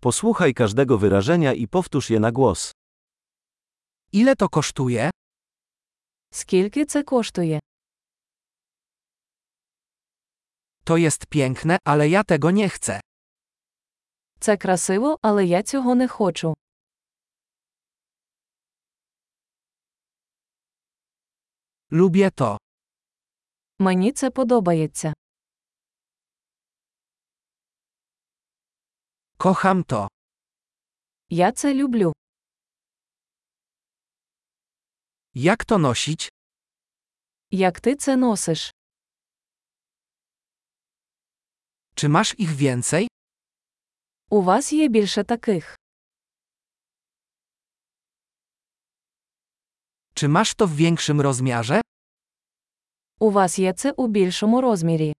Posłuchaj każdego wyrażenia i powtórz je na głos. Ile to kosztuje? Скільки це коштує? To jest piękne, ale ja tego nie chcę. Це красиво, але я цього не хочу. Lubię to. Мені це подобається. Kocham to. Я це люблю. Jak to nosić? Як ти це носиш? Czy masz ich więcej? У вас є більше таких. Czy masz to w większym rozmiarze? У вас є це у більшому розмірі.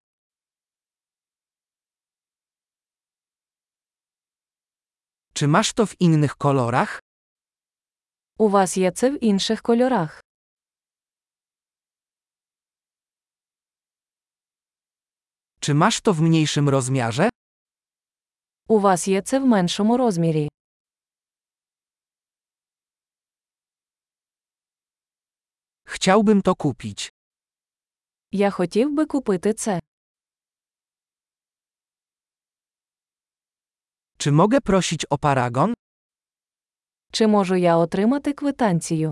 Czy masz to w innych kolorach? У вас є це в інших кольорах. Czy masz to w mniejszym rozmiarze? У вас є це в меншому розмірі. Chciałbym to kupić. Я хотів би купити це. Czy mogę prosić o paragon? Чи можу я отримати квитанцію?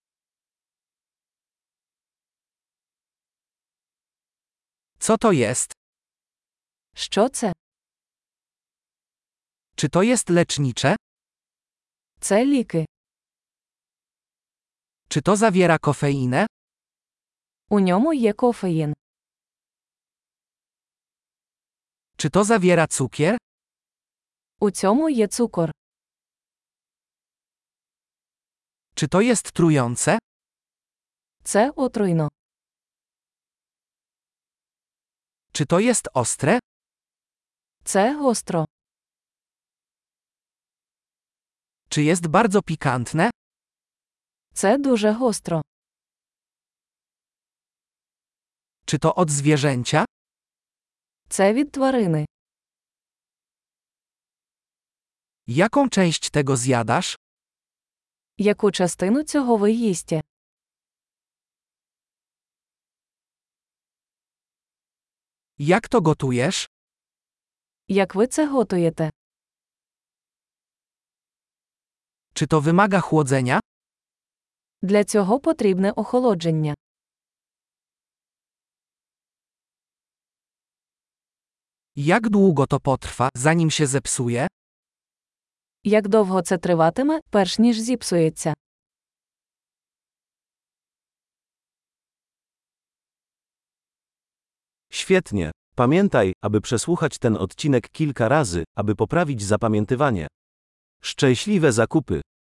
Co to jest? Що це? Czy to jest lecznicze? Це ліки. Czy to zawiera kofeinę? У ньому є кофеїн. Czy to zawiera cukier? У цьому є цукор. Czy to jest trujące? Це отруйно. Czy to jest ostre? Це гостро. Czy jest bardzo pikantne? Це дуже гостро. Czy to od zwierzęcia? Це від тварини. Jaką część tego zjadasz? Яку частину цього ви їсте? Jak to gotujesz? Як ви це готуєте? Czy to wymaga chłodzenia? Для цього потрібне охолодження. Jak długo to potrwa, zanim się zepsuje? Як довго це триватиме, перш ніж зіпсується? Świetnie. Pamiętaj, aby przesłuchać ten odcinek kilka razy, aby poprawić zapamiętywanie. Szczęśliwe zakupy!